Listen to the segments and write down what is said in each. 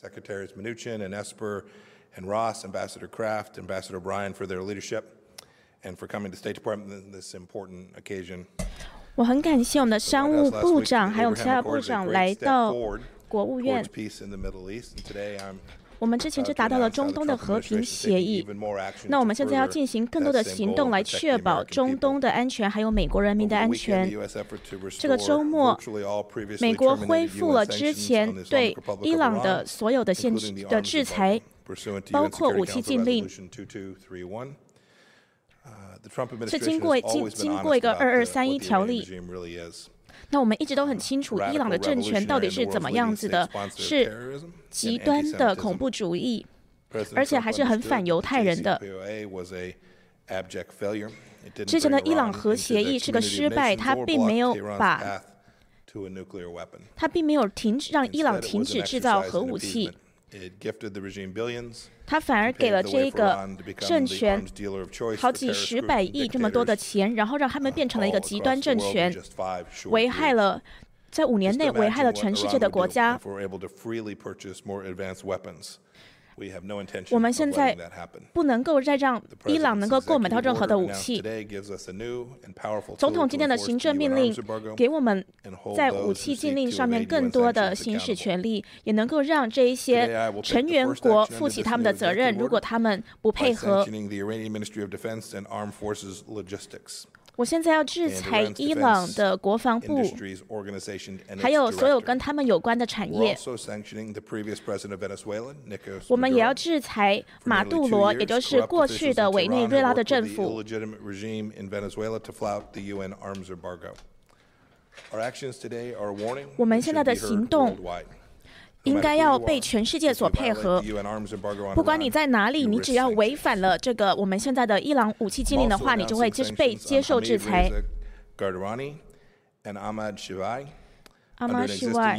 Secretaries Mnuchin and Esper and Ross, Ambassador Kraft, Ambassador Bryan for their leadership and for coming to State Department on this important occasion. 我很感谢我们的商务部长还有其他部长来到国务院。我们之前就达到了中东的和平协议，那我们现在要进行更多的行动来确保中东的安全，还有美国人民的安全。这个周末，美国恢复了之前对伊朗的所有的制裁，包括武器禁令。是经过一个2231条例。那我们一直都很清楚，伊朗的政权到底是怎么样子的，是极端的恐怖主义，而且还是很反犹太人的。之前的伊朗核协议是个失败，它并没有让伊朗停止制造核武器。他反而给了这个政权好几十百亿这么多的钱，然后让他们变成了一个极端政权，在5年内危害了全世界的国家。我们现在不能够再让伊朗能够购买到任何的武器。总统今天的行政命令给我们在武器禁令上面更多的行使权利，也能够让这一些成员国负起他们的责任，如果他们不配合。我现在要制裁伊朗的国防部，还有所有跟他们有关的产业。我们也要制裁马杜罗，也就是过去的委内瑞拉的政府。我们现在的行动应该要被全世界所配合。不管你在哪里，你只要违反了这个我们现在的伊朗武器禁令的话，你就会被接受制裁。阿马什外，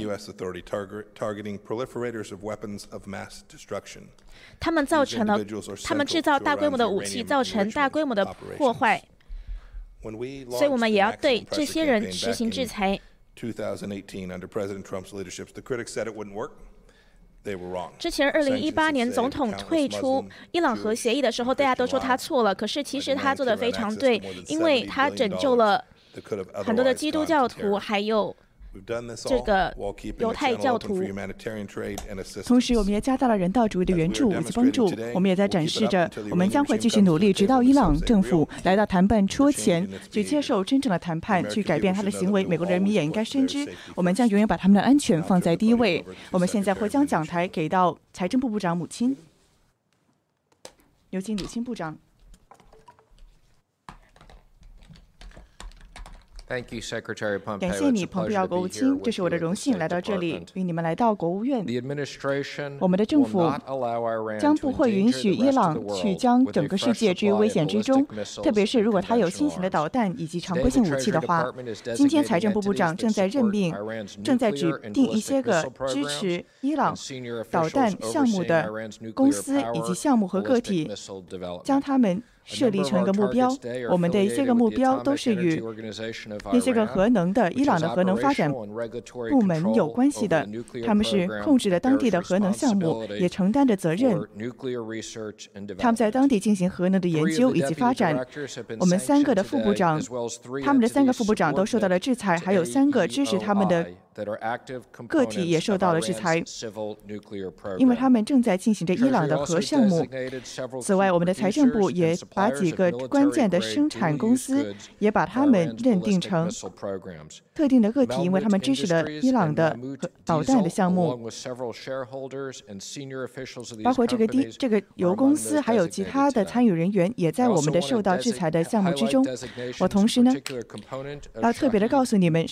他们制造大规模的武器，造成大规模的破坏，所以我们也要对这些人实行制裁。 2018 under President Trump's leadership, the critics said it wouldn't work. They were wrong. 之前2018年总统退出伊朗核协议的时候，大家都说他错了，可是其实他做得非常对，因为他拯救了很多的基督教徒，还有这个犹太教徒。 同时，我们也加大了人道主义的援助以及帮助。我们也在展示着，我们将会继续努力，直到伊朗政府来到谈判桌前，去接受真正的谈判，去改变他的行为。美国人民也应该深知，我们将永远把他们的安全放在第一位。我们现在会将讲台给到财政部部长母亲，有请母亲部长。感谢你，蓬佩奥国务卿，这是我的荣幸来到这里，与你们来到国务院。我们的政府将不会允许伊朗去将整个世界置于危险之中，特别是如果他有新型的导弹以及常规性武器的话。今天财政部部长正在指定一些个支持伊朗导弹项目的公司以及项目和个体，将他们设立成一个目标。我们的一些个目标都是与那些个核能的伊朗的核能发展部门有关系的，他们是控制了当地的核能项目，也承担着责任。他们在当地进行核能的研究以及发展。我们3个的副部长，他们的3个副部长都受到了制裁，还有3个支持他们的个体也受到了制裁，因为他们正在进行着伊朗的核项目。此外，我们的财政部也把几个关键的生产公司也把他们认定成特定的个体，因为他们支持了伊朗的导弹的项目，包括这个油公司还有其他的参与人员也在我们的受到制裁的项目之中。我同时呢要特别的告诉你们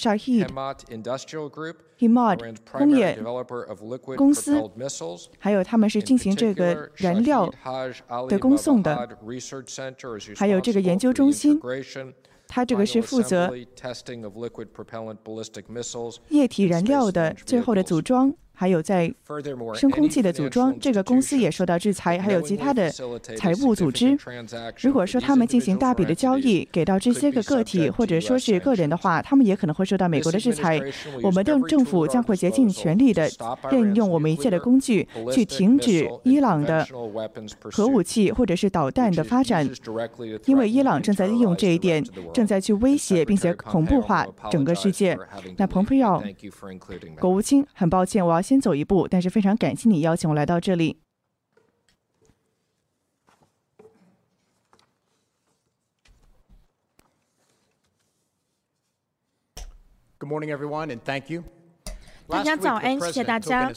Himad 工业公司，还有他们是进行这个燃料的供送的，还有这个研究中心，它这个是负责液体燃料的最后的组装， 还有在深空气的组装，这个公司也受到制裁，还有其他的财务组织。如果说他们进行大笔的交易给到这些个个体或者说是个人的话，他们也可能会受到美国的制裁。我们的政府将会竭尽全力的任用我们一切的工具，去停止伊朗的核武器或者是导弹的发展，因为伊朗正在利用这一点，正在去威胁并且恐怖化整个世界。那蓬佩奥国务卿，很抱歉，我要先走一步，但是非常感谢你邀请我来到这里。 Good morning, everyone, and thank you. 大家早安，谢谢大家。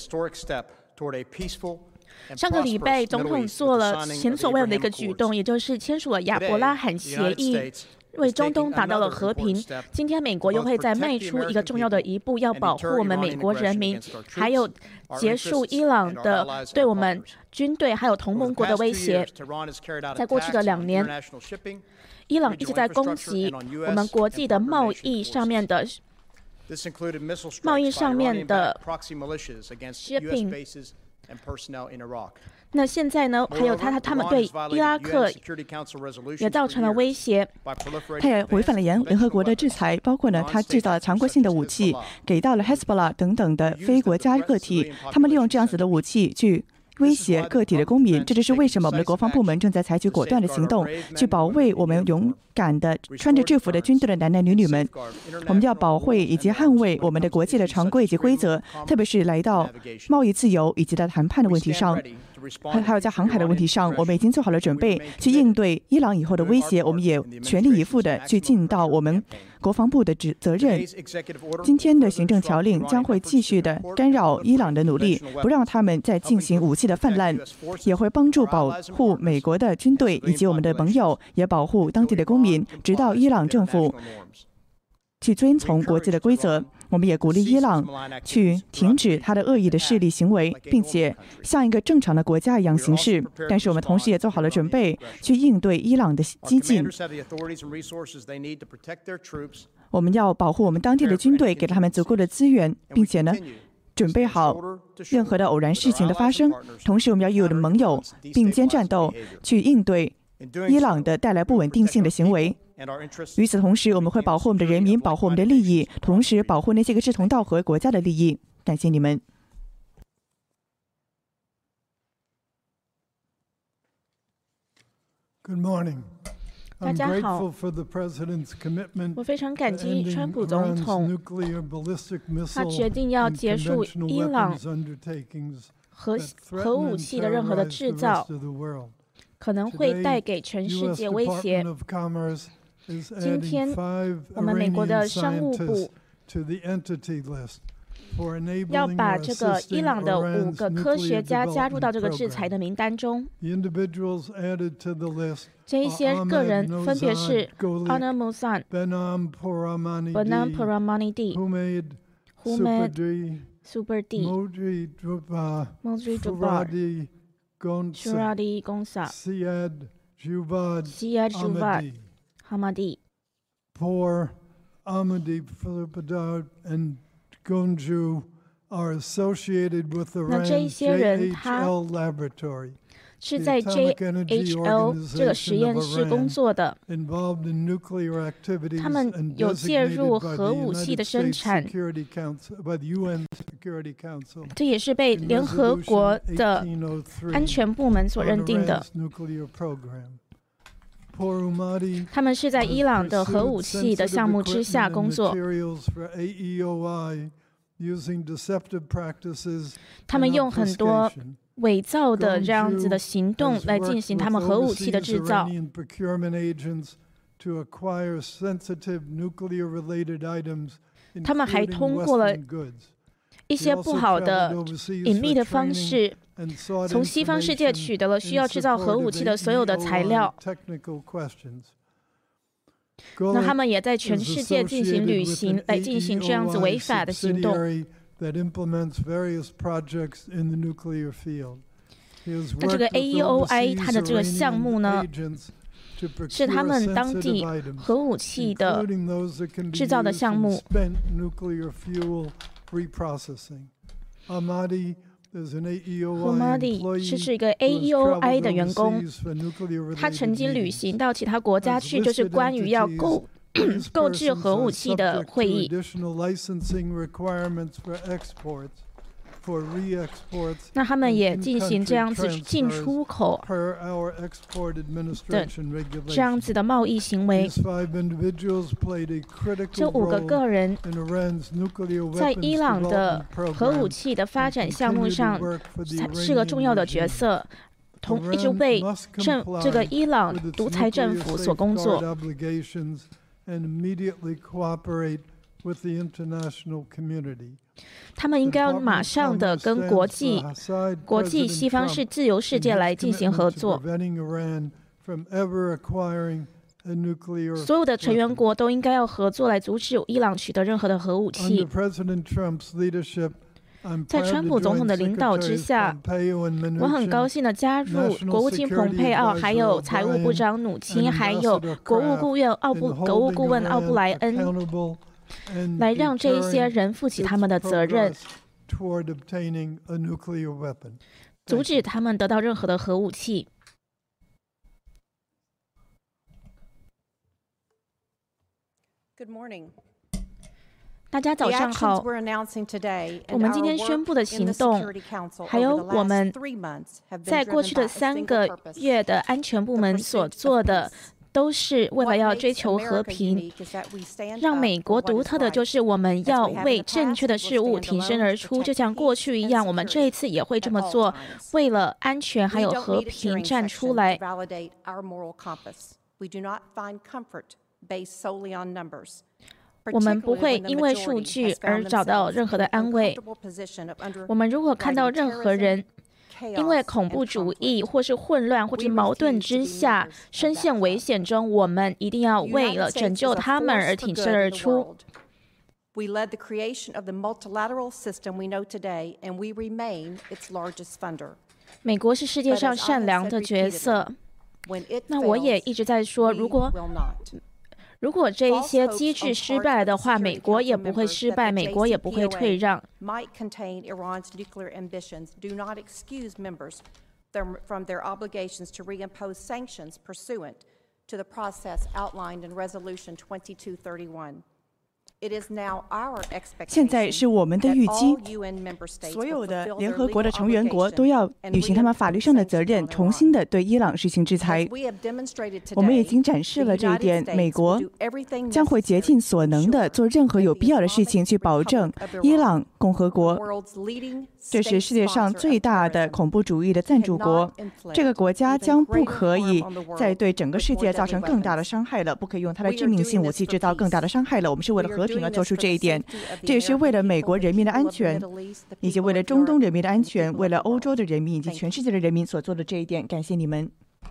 上个礼拜，总统做了前所未有的一个举动，也就是签署了亚伯拉罕协议，为中东达到了和平。今天，美国又会再迈出一个重要的一步，要保护我们美国人民，还有结束伊朗的对我们军队还有同盟国的威胁。在过去的2年，伊朗一直在攻击我们国际的贸易上面的。shipping， 那现在呢？还有他们对伊拉克也造成了威胁， 他也违反了联合国的制裁，包括呢，他制造了常规性的武器给到了 Hezbollah 等等的非国家个体，他们利用这样子的武器去威胁个体的公民。这就是为什么我们的国防部门正在采取果断的行动，去保卫我们勇敢的穿着制服的军队的男男女女们。我们要保卫以及捍卫我们的国际的常规以及规则，特别是来到贸易自由以及在谈判的问题上，还有在航海的问题上，我们已经做好了准备去应对伊朗以后的威胁。我们也全力以赴的去尽到我们国防部的责任。今天的行政条令将会继续的干扰伊朗的努力，不让他们再进行武器的泛滥，也会帮助保护美国的军队以及我们的盟友，也保护当地的公民，直到伊朗政府去遵从国际的规则。我们也鼓励伊朗去停止他的恶意的势力行为，并且像一个正常的国家一样行事。但是我们同时也做好了准备去应对伊朗的激进。我们要保护我们当地的军队，给他们足够的资源，并且呢，准备好任何的偶然事情的发生。同时，我们要与我的盟友并肩战斗，去应对伊朗的带来不稳定性的行为。与此同时，我们会保护我们的人民，保护我们的利益，同时保护那些个志同道合国家的利益。感谢你们。 Good morning. 大家好，我非常感激川普总统，他决定要结束伊朗核武器的任何的制造，可能会带给全世界威胁。今天，我们美国的商务部要把这个伊朗的5个科学家加入到这个制裁的名单中。这一些个人分别是 Anna Mousan、Behnam Poramahnidi、Humed Suburdi、Modri Jubbar、Shuradi Gonsa、Siad Juvad、Hamadi。 Poor Ahmadi Filipidad and Gonju are associated with the JHL laboratory. 是在 JHL 这个实验室工作的，他们有介入核武器的生产，这也是被联合国的安全部门所认定的。他们是在伊朗的核武器的项目之下工作。他们用很多伪造的这样子的行动来进行他们核武器的制造。他们还通过了一些不好的隐秘的方式，从西方世界取得了需要制造核武器的所有的材料。那他们也在全世界进行旅行，来进行这样子违法的行动。那这个 AEOI 它的这个项目呢，是他们当地核武器的制造的项目。 Ahmadi 是一个 AEOI 的员工，他曾经旅行到其他国家去，就是关于要购置核武器的会议。那他们也进行这样子进出口的这样子的贸易行为。这5个个人在伊朗的核武器的发展项目上是个重要的角色，一直为这个伊朗独裁政府所工作。他们应该要马上的跟国际西方自由世界来进行合作。所有的成员国都应该要合作来阻止伊朗取得任何的核武器。在川普总统的领导之下，我很高兴的加入国务卿蓬佩奥，还有财务部长努钦，还有国务顾问奥布莱恩，来让这一些人负起他们的责任，阻止他们得到任何的核武器。 Good morning. 大家早上好。我们今天宣布的行动，还有我们在过去的3个月的安全部门所做的，都是为了要追求和平。让美国独特的就是我们要为正确的事物挺身而出，就像过去一样，我们这一次也会这么做，为了安全还有和平站出来。我们不会因为数据而找到任何的安慰。我们如果看到任何人因为恐怖主义或是混乱或是矛盾之下深陷危险中，我们一定要为了拯救他们而挺身而出。 We led the creation of the multilateral system we know today, and we remain its largest funder. 美国是世界上善良的角色。那我也一直在说，如果这一些机制失败的话，美国也不会失败，美国也不会退让。 Might contain Iran's nuclear ambitions do not excuse members from their obligations to reimpose sanctions pursuant to the process outlined in Resolution 2231. 现在是我们的预期，所有的联合国的成员国都要履行他们法律上的责任，重新的对伊朗实行制裁。我们已经展示了这一点，美国将会竭尽所能的做任何有必要的事情，去保证伊朗共和国，这是世界上最大的恐怖主义的赞助国。这个国家将不可以再对整个世界造成更大的伤害了，不可以用它的致命性武器制造更大的伤害了。我们是为了和平而做出这一点，这也是为了美国人民的安全，以及为了中东人民的安全，为了欧洲的人民以及全世界的人民所做的这一点。感谢你们。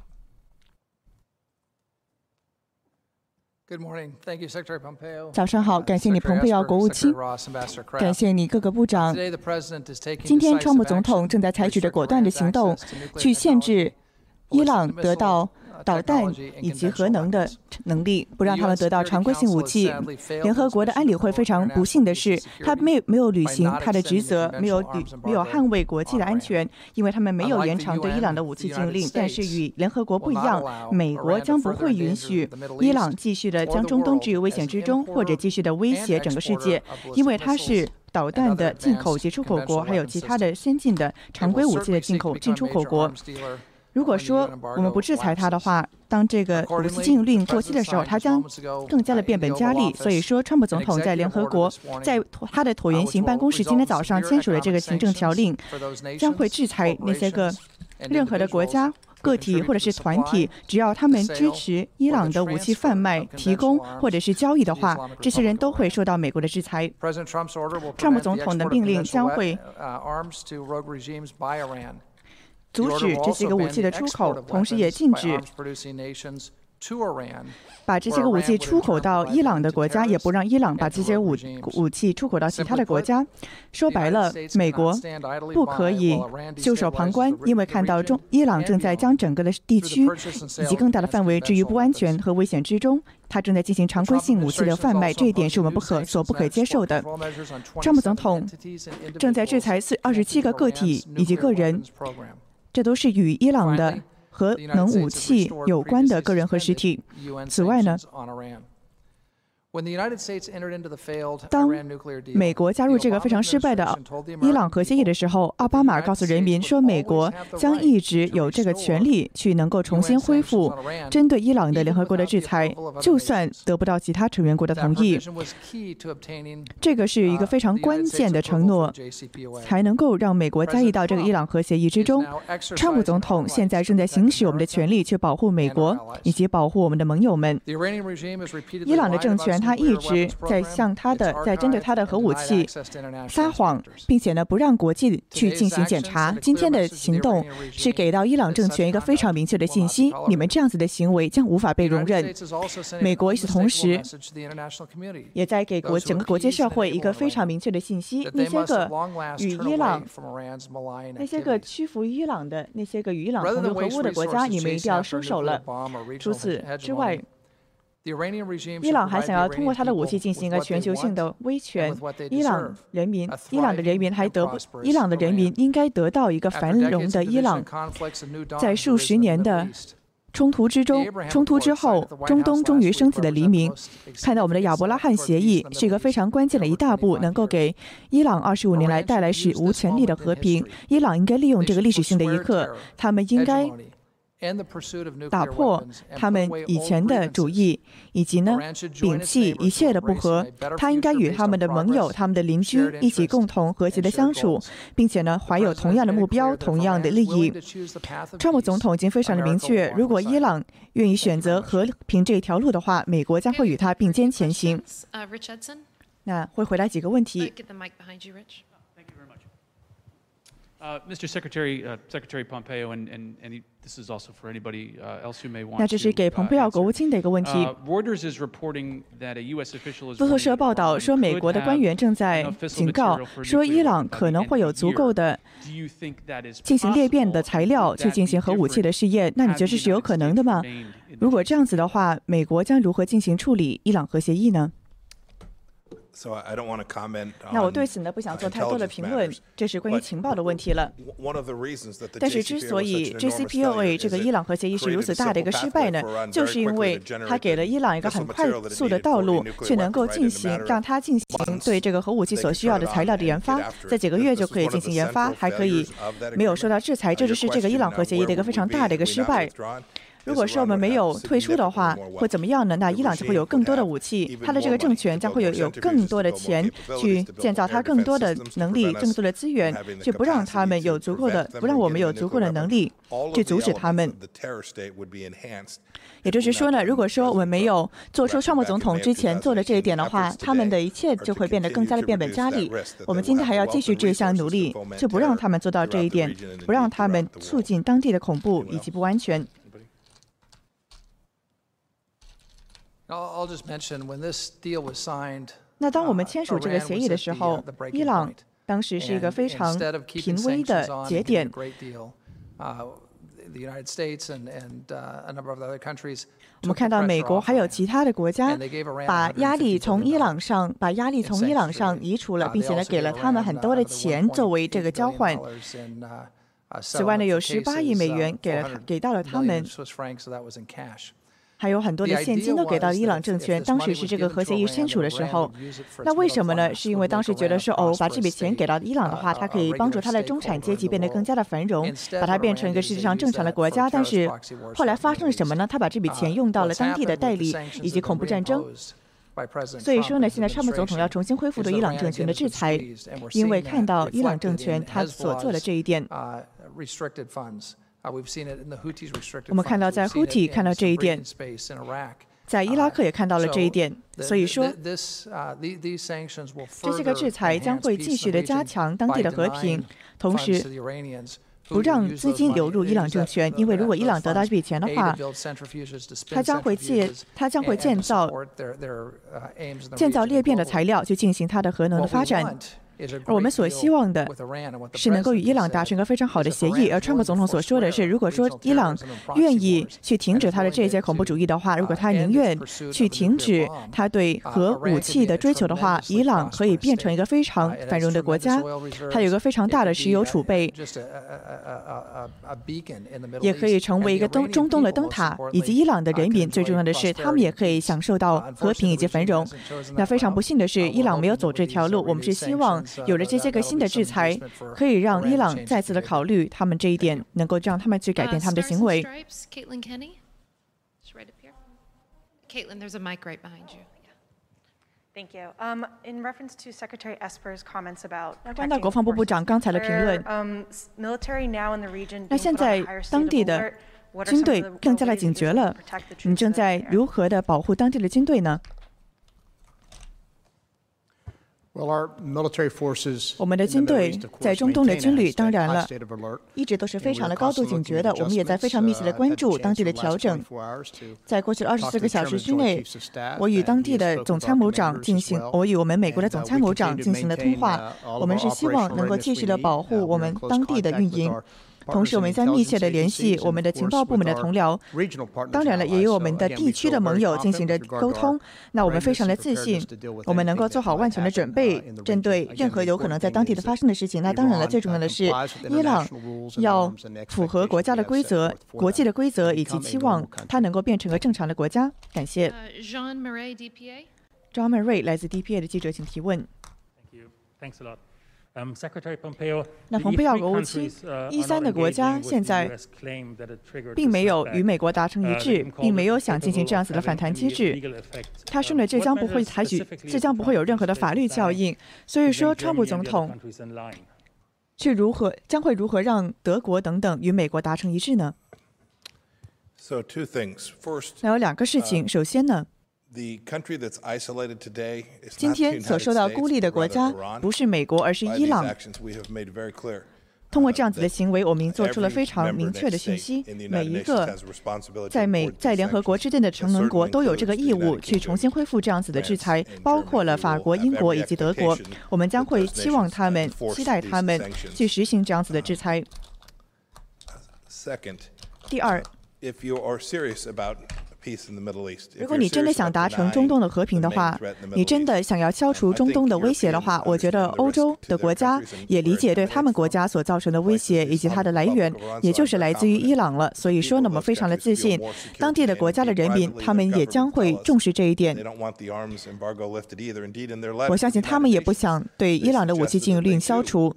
早上好，感谢你，蓬佩奥国务卿，感谢你各个部长。今天，川普总统正在采取着果断的行动，去限制伊朗得到导弹以及核能的能力，不让他们得到常规性武器。联合国的安理会非常不幸的是，他没有履行他的职责，没有捍卫国际的安全，因为他们没有延长对伊朗的武器禁令。但是与联合国不一样，美国将不会允许伊朗继续的将中东置于危险之中，或者继续的威胁整个世界，因为它是导弹的进口及出口国，还有其他的先进的常规武器的进出口国。如果说我们不制裁它的话，当这个武器禁令过期的时候，它将更加的变本加厉。所以说，川普总统在联合国，在他的椭圆形办公室今天早上签署了这个行政条令，将会制裁那些个任何的国家、个体或者是团体，只要他们支持伊朗的武器贩卖、提供或者是交易的话，这些人都会受到美国的制裁。川普总统的命令将会阻止这些个武器的出口，同时也禁止把这些个武器出口到伊朗的国家，也不让伊朗把这些武器出口到其他的国家。说白了，美国不可以袖手旁观，因为看到伊朗正在将整个的地区以及更大的范围置于不安全和危险之中，他正在进行常规性武器的贩卖，这一点是我们不可接受的。川普总统正在制裁27个个体以及个人，这都是与伊朗的核能武器有关的个人和实体。此外呢，当美国加入这个非常失败的伊朗核协议的时候，奥巴马告诉人民说，美国将一直有这个权利去能够重新恢复针对伊朗的联合国的制裁，就算得不到其他成员国的同意。这个是一个非常关键的承诺，才能够让美国加入到这个伊朗核协议之中。川普总统现在正在行使我们的权利去保护美国以及保护我们的盟友们。伊朗的政权他一直在针对他的核武器撒谎，并且呢不让国际去进行检查。今天的行动是给到伊朗政权一个非常明确的信息：你们这样子的行为将无法被容忍。美国与此同时也在给整个国际社会一个非常明确的信息：那些个与伊朗、那些个屈服于伊朗的、那些个与伊朗同流合污的国家，你们一定要收手了。除此之外，伊朗还想要通过他的武器进行一个全球性的威权。伊朗的人民应该得到一个繁荣的伊朗。在数十年的冲突之后，中东终于升起了黎明。看到我们的亚伯拉罕协议是一个非常关键的一大步，能够给伊朗25年来带来史无前例的和平。伊朗应该利用这个历史性的一刻，他们应该打破他们以前的主义，以及呢摒弃一切的不和。他应该与他们的盟友、他们的邻居一起共同和谐的相处，并且呢怀有同样的目标、同样的利益。川普总统已经非常的明确，如果伊朗愿意选择和平这条路的话，美国将会与他并肩前行。那会回答几个问题。 Mr. Secretary, Secretary Pompeo, and this is also for anybody else who may want to. 那这是给蓬佩奥国务卿的一个问题。 Reuters is reporting that a U.S. official is. 路透社报道说，美国的官员正在警告说，伊朗可能会有足够的进行裂变的材料去进行核武器的试验。那你觉得这是有可能的吗？如果这样子的话，美国将如何进行处理伊朗核协议呢？那我对此呢不想做太多的评论，这是关于情报的问题了。但是之所以 JCPOA 这个伊朗核协议是如此大的一个失败呢，就是因为它给了伊朗一个很快速的道路，去能够让它进行对这个核武器所需要的材料的研发，在几个月就可以进行研发，还可以没有受到制裁，这就是这个伊朗核协议的一个非常大的一个失败。如果说我们没有退出的话，会怎么样呢？那伊朗就会有更多的武器，他的这个政权将会有更多的钱去建造他更多的能力、更多的资源，去不让我们有足够的能力去阻止他们。也就是说呢，如果说我们没有做出川普总统之前做的这一点的话，他们的一切就会变得更加的变本加厉。我们今天还要继续这项努力，就不让他们做到这一点，不让他们促进当地的恐怖以及不安全。那当我们签署这个协议的时候，伊朗当时是一个非常濒危的节点。我们看到美国还有其他的国家把压力从伊朗上移除了，并且呢给了他们很多的钱作为这个交换。此外呢，有18亿美元给到了他们。还有很多的现金都给到伊朗政权，当时是这个核协议签署的时候。那为什么呢？是因为当时觉得说，把这笔钱给到伊朗的话，它可以帮助它的中产阶级变得更加的繁荣，把它变成一个世界上正常的国家。但是后来发生了什么呢？他把这笔钱用到了当地的代理以及恐怖战争。所以说呢，现在川普总统要重新恢复对伊朗政权的制裁，因为看到伊朗政权他所做的这一点。我们看到在 Houthi 看到这一点，在伊拉克也看到了这一点。所以说，这些个制裁将会继续的加强当地的和平，同时不让资金流入伊朗政权，因为如果伊朗得到这笔钱的话，它将会建造裂变的材料，去进行它的核能的发展。而我们所希望的是能够与伊朗达成一个非常好的协议。而川普总统所说的是，如果说伊朗愿意去停止他的这些恐怖主义的话，如果他宁愿去停止他对核武器的追求的话，伊朗可以变成一个非常繁荣的国家，它有一个非常大的石油储备，也可以成为一个中东的灯塔，以及伊朗的人民最重要的是，他们也可以享受到和平以及繁荣。那非常不幸的是，伊朗没有走这条路。我们是希望有了这些个新的制裁，可以让伊朗再次的考虑他们这一点，能够让他们去改变他们的行为。 Caitlin, there's a mic right behind you. Thank you. In reference to Secretary Esper's comments about 关到国防部部长刚才的评论，那现在当地的军队更加的警觉了，你正在如何的保护当地的军队呢？我们的军队在中东的军旅，当然了，一直都是非常的高度警觉的。我们也在非常密切的关注当地的调整。在过去的24个小时之内，我与当地的总参谋长我与我们美国的总参谋长进行了通话。我们是希望能够继续的保护我们当地的运营。同时，我们在密切的联系我们的情报部门的同僚，当然了，也有我们的地区的盟友进行着沟通。那我们非常的自信，我们能够做好万全的准备，针对任何有可能在当地的发生的事情。那当然了，最重要的是，伊朗要符合国家的规则、国际的规则，以及期望它能够变成个正常的国家。感谢。 Jean Murray，DPA。 John Murray 来自 DPA 的记者，请提问。那蓬佩奥国务卿，13的国家现在并没有与美国达成一致，并没有想进行这样子的反弹机制。他说呢，这将不会有任何的法律效应。所以说，川普总统将会如何让德国等等与美国达成一致呢？那有2个事情。首先呢，今天所受到孤立的国家不是美国，而是伊朗。通过这样子的行为，我们做出了非常明确的讯息：每一个在联合国之内的成员国都有这个义务去重新恢复这样子的制裁，包括了法国、英国以及德国。我们将会期待他们去实行这样子的制裁。第二，如果你真的想达成中东的和平的话，你真的想要消除中东的威胁的话，我觉得欧洲的国家也理解对他们国家所造成的威胁以及它的来源，也就是来自于伊朗了。所以说呢，我们非常的自信，当地的国家的人民，他们也将会重视这一点。我相信他们也不想对伊朗的武器禁运令消除。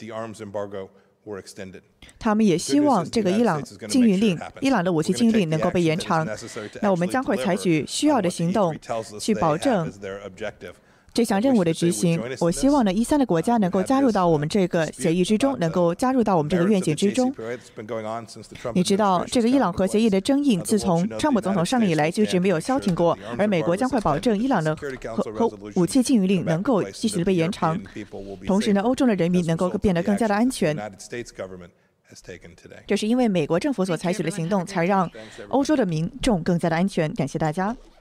他们也希望这个伊朗的武器禁运令能够被延长。那我们将会采取需要的行动，去保证这项任务的执行。我希望呢，13的国家能够加入到我们这个协议之中，能够加入到我们这个愿景之中。你知道，这个伊朗核协议的争议，自从川普总统上任以来就一直没有消停过，而美国将会保证伊朗的核武器禁运令能够继续的被延长。同时呢，欧洲的人民能够变得更加的安全。这是因为美国政府所采取的行动，才让欧洲的民众更加的安全。感谢大家。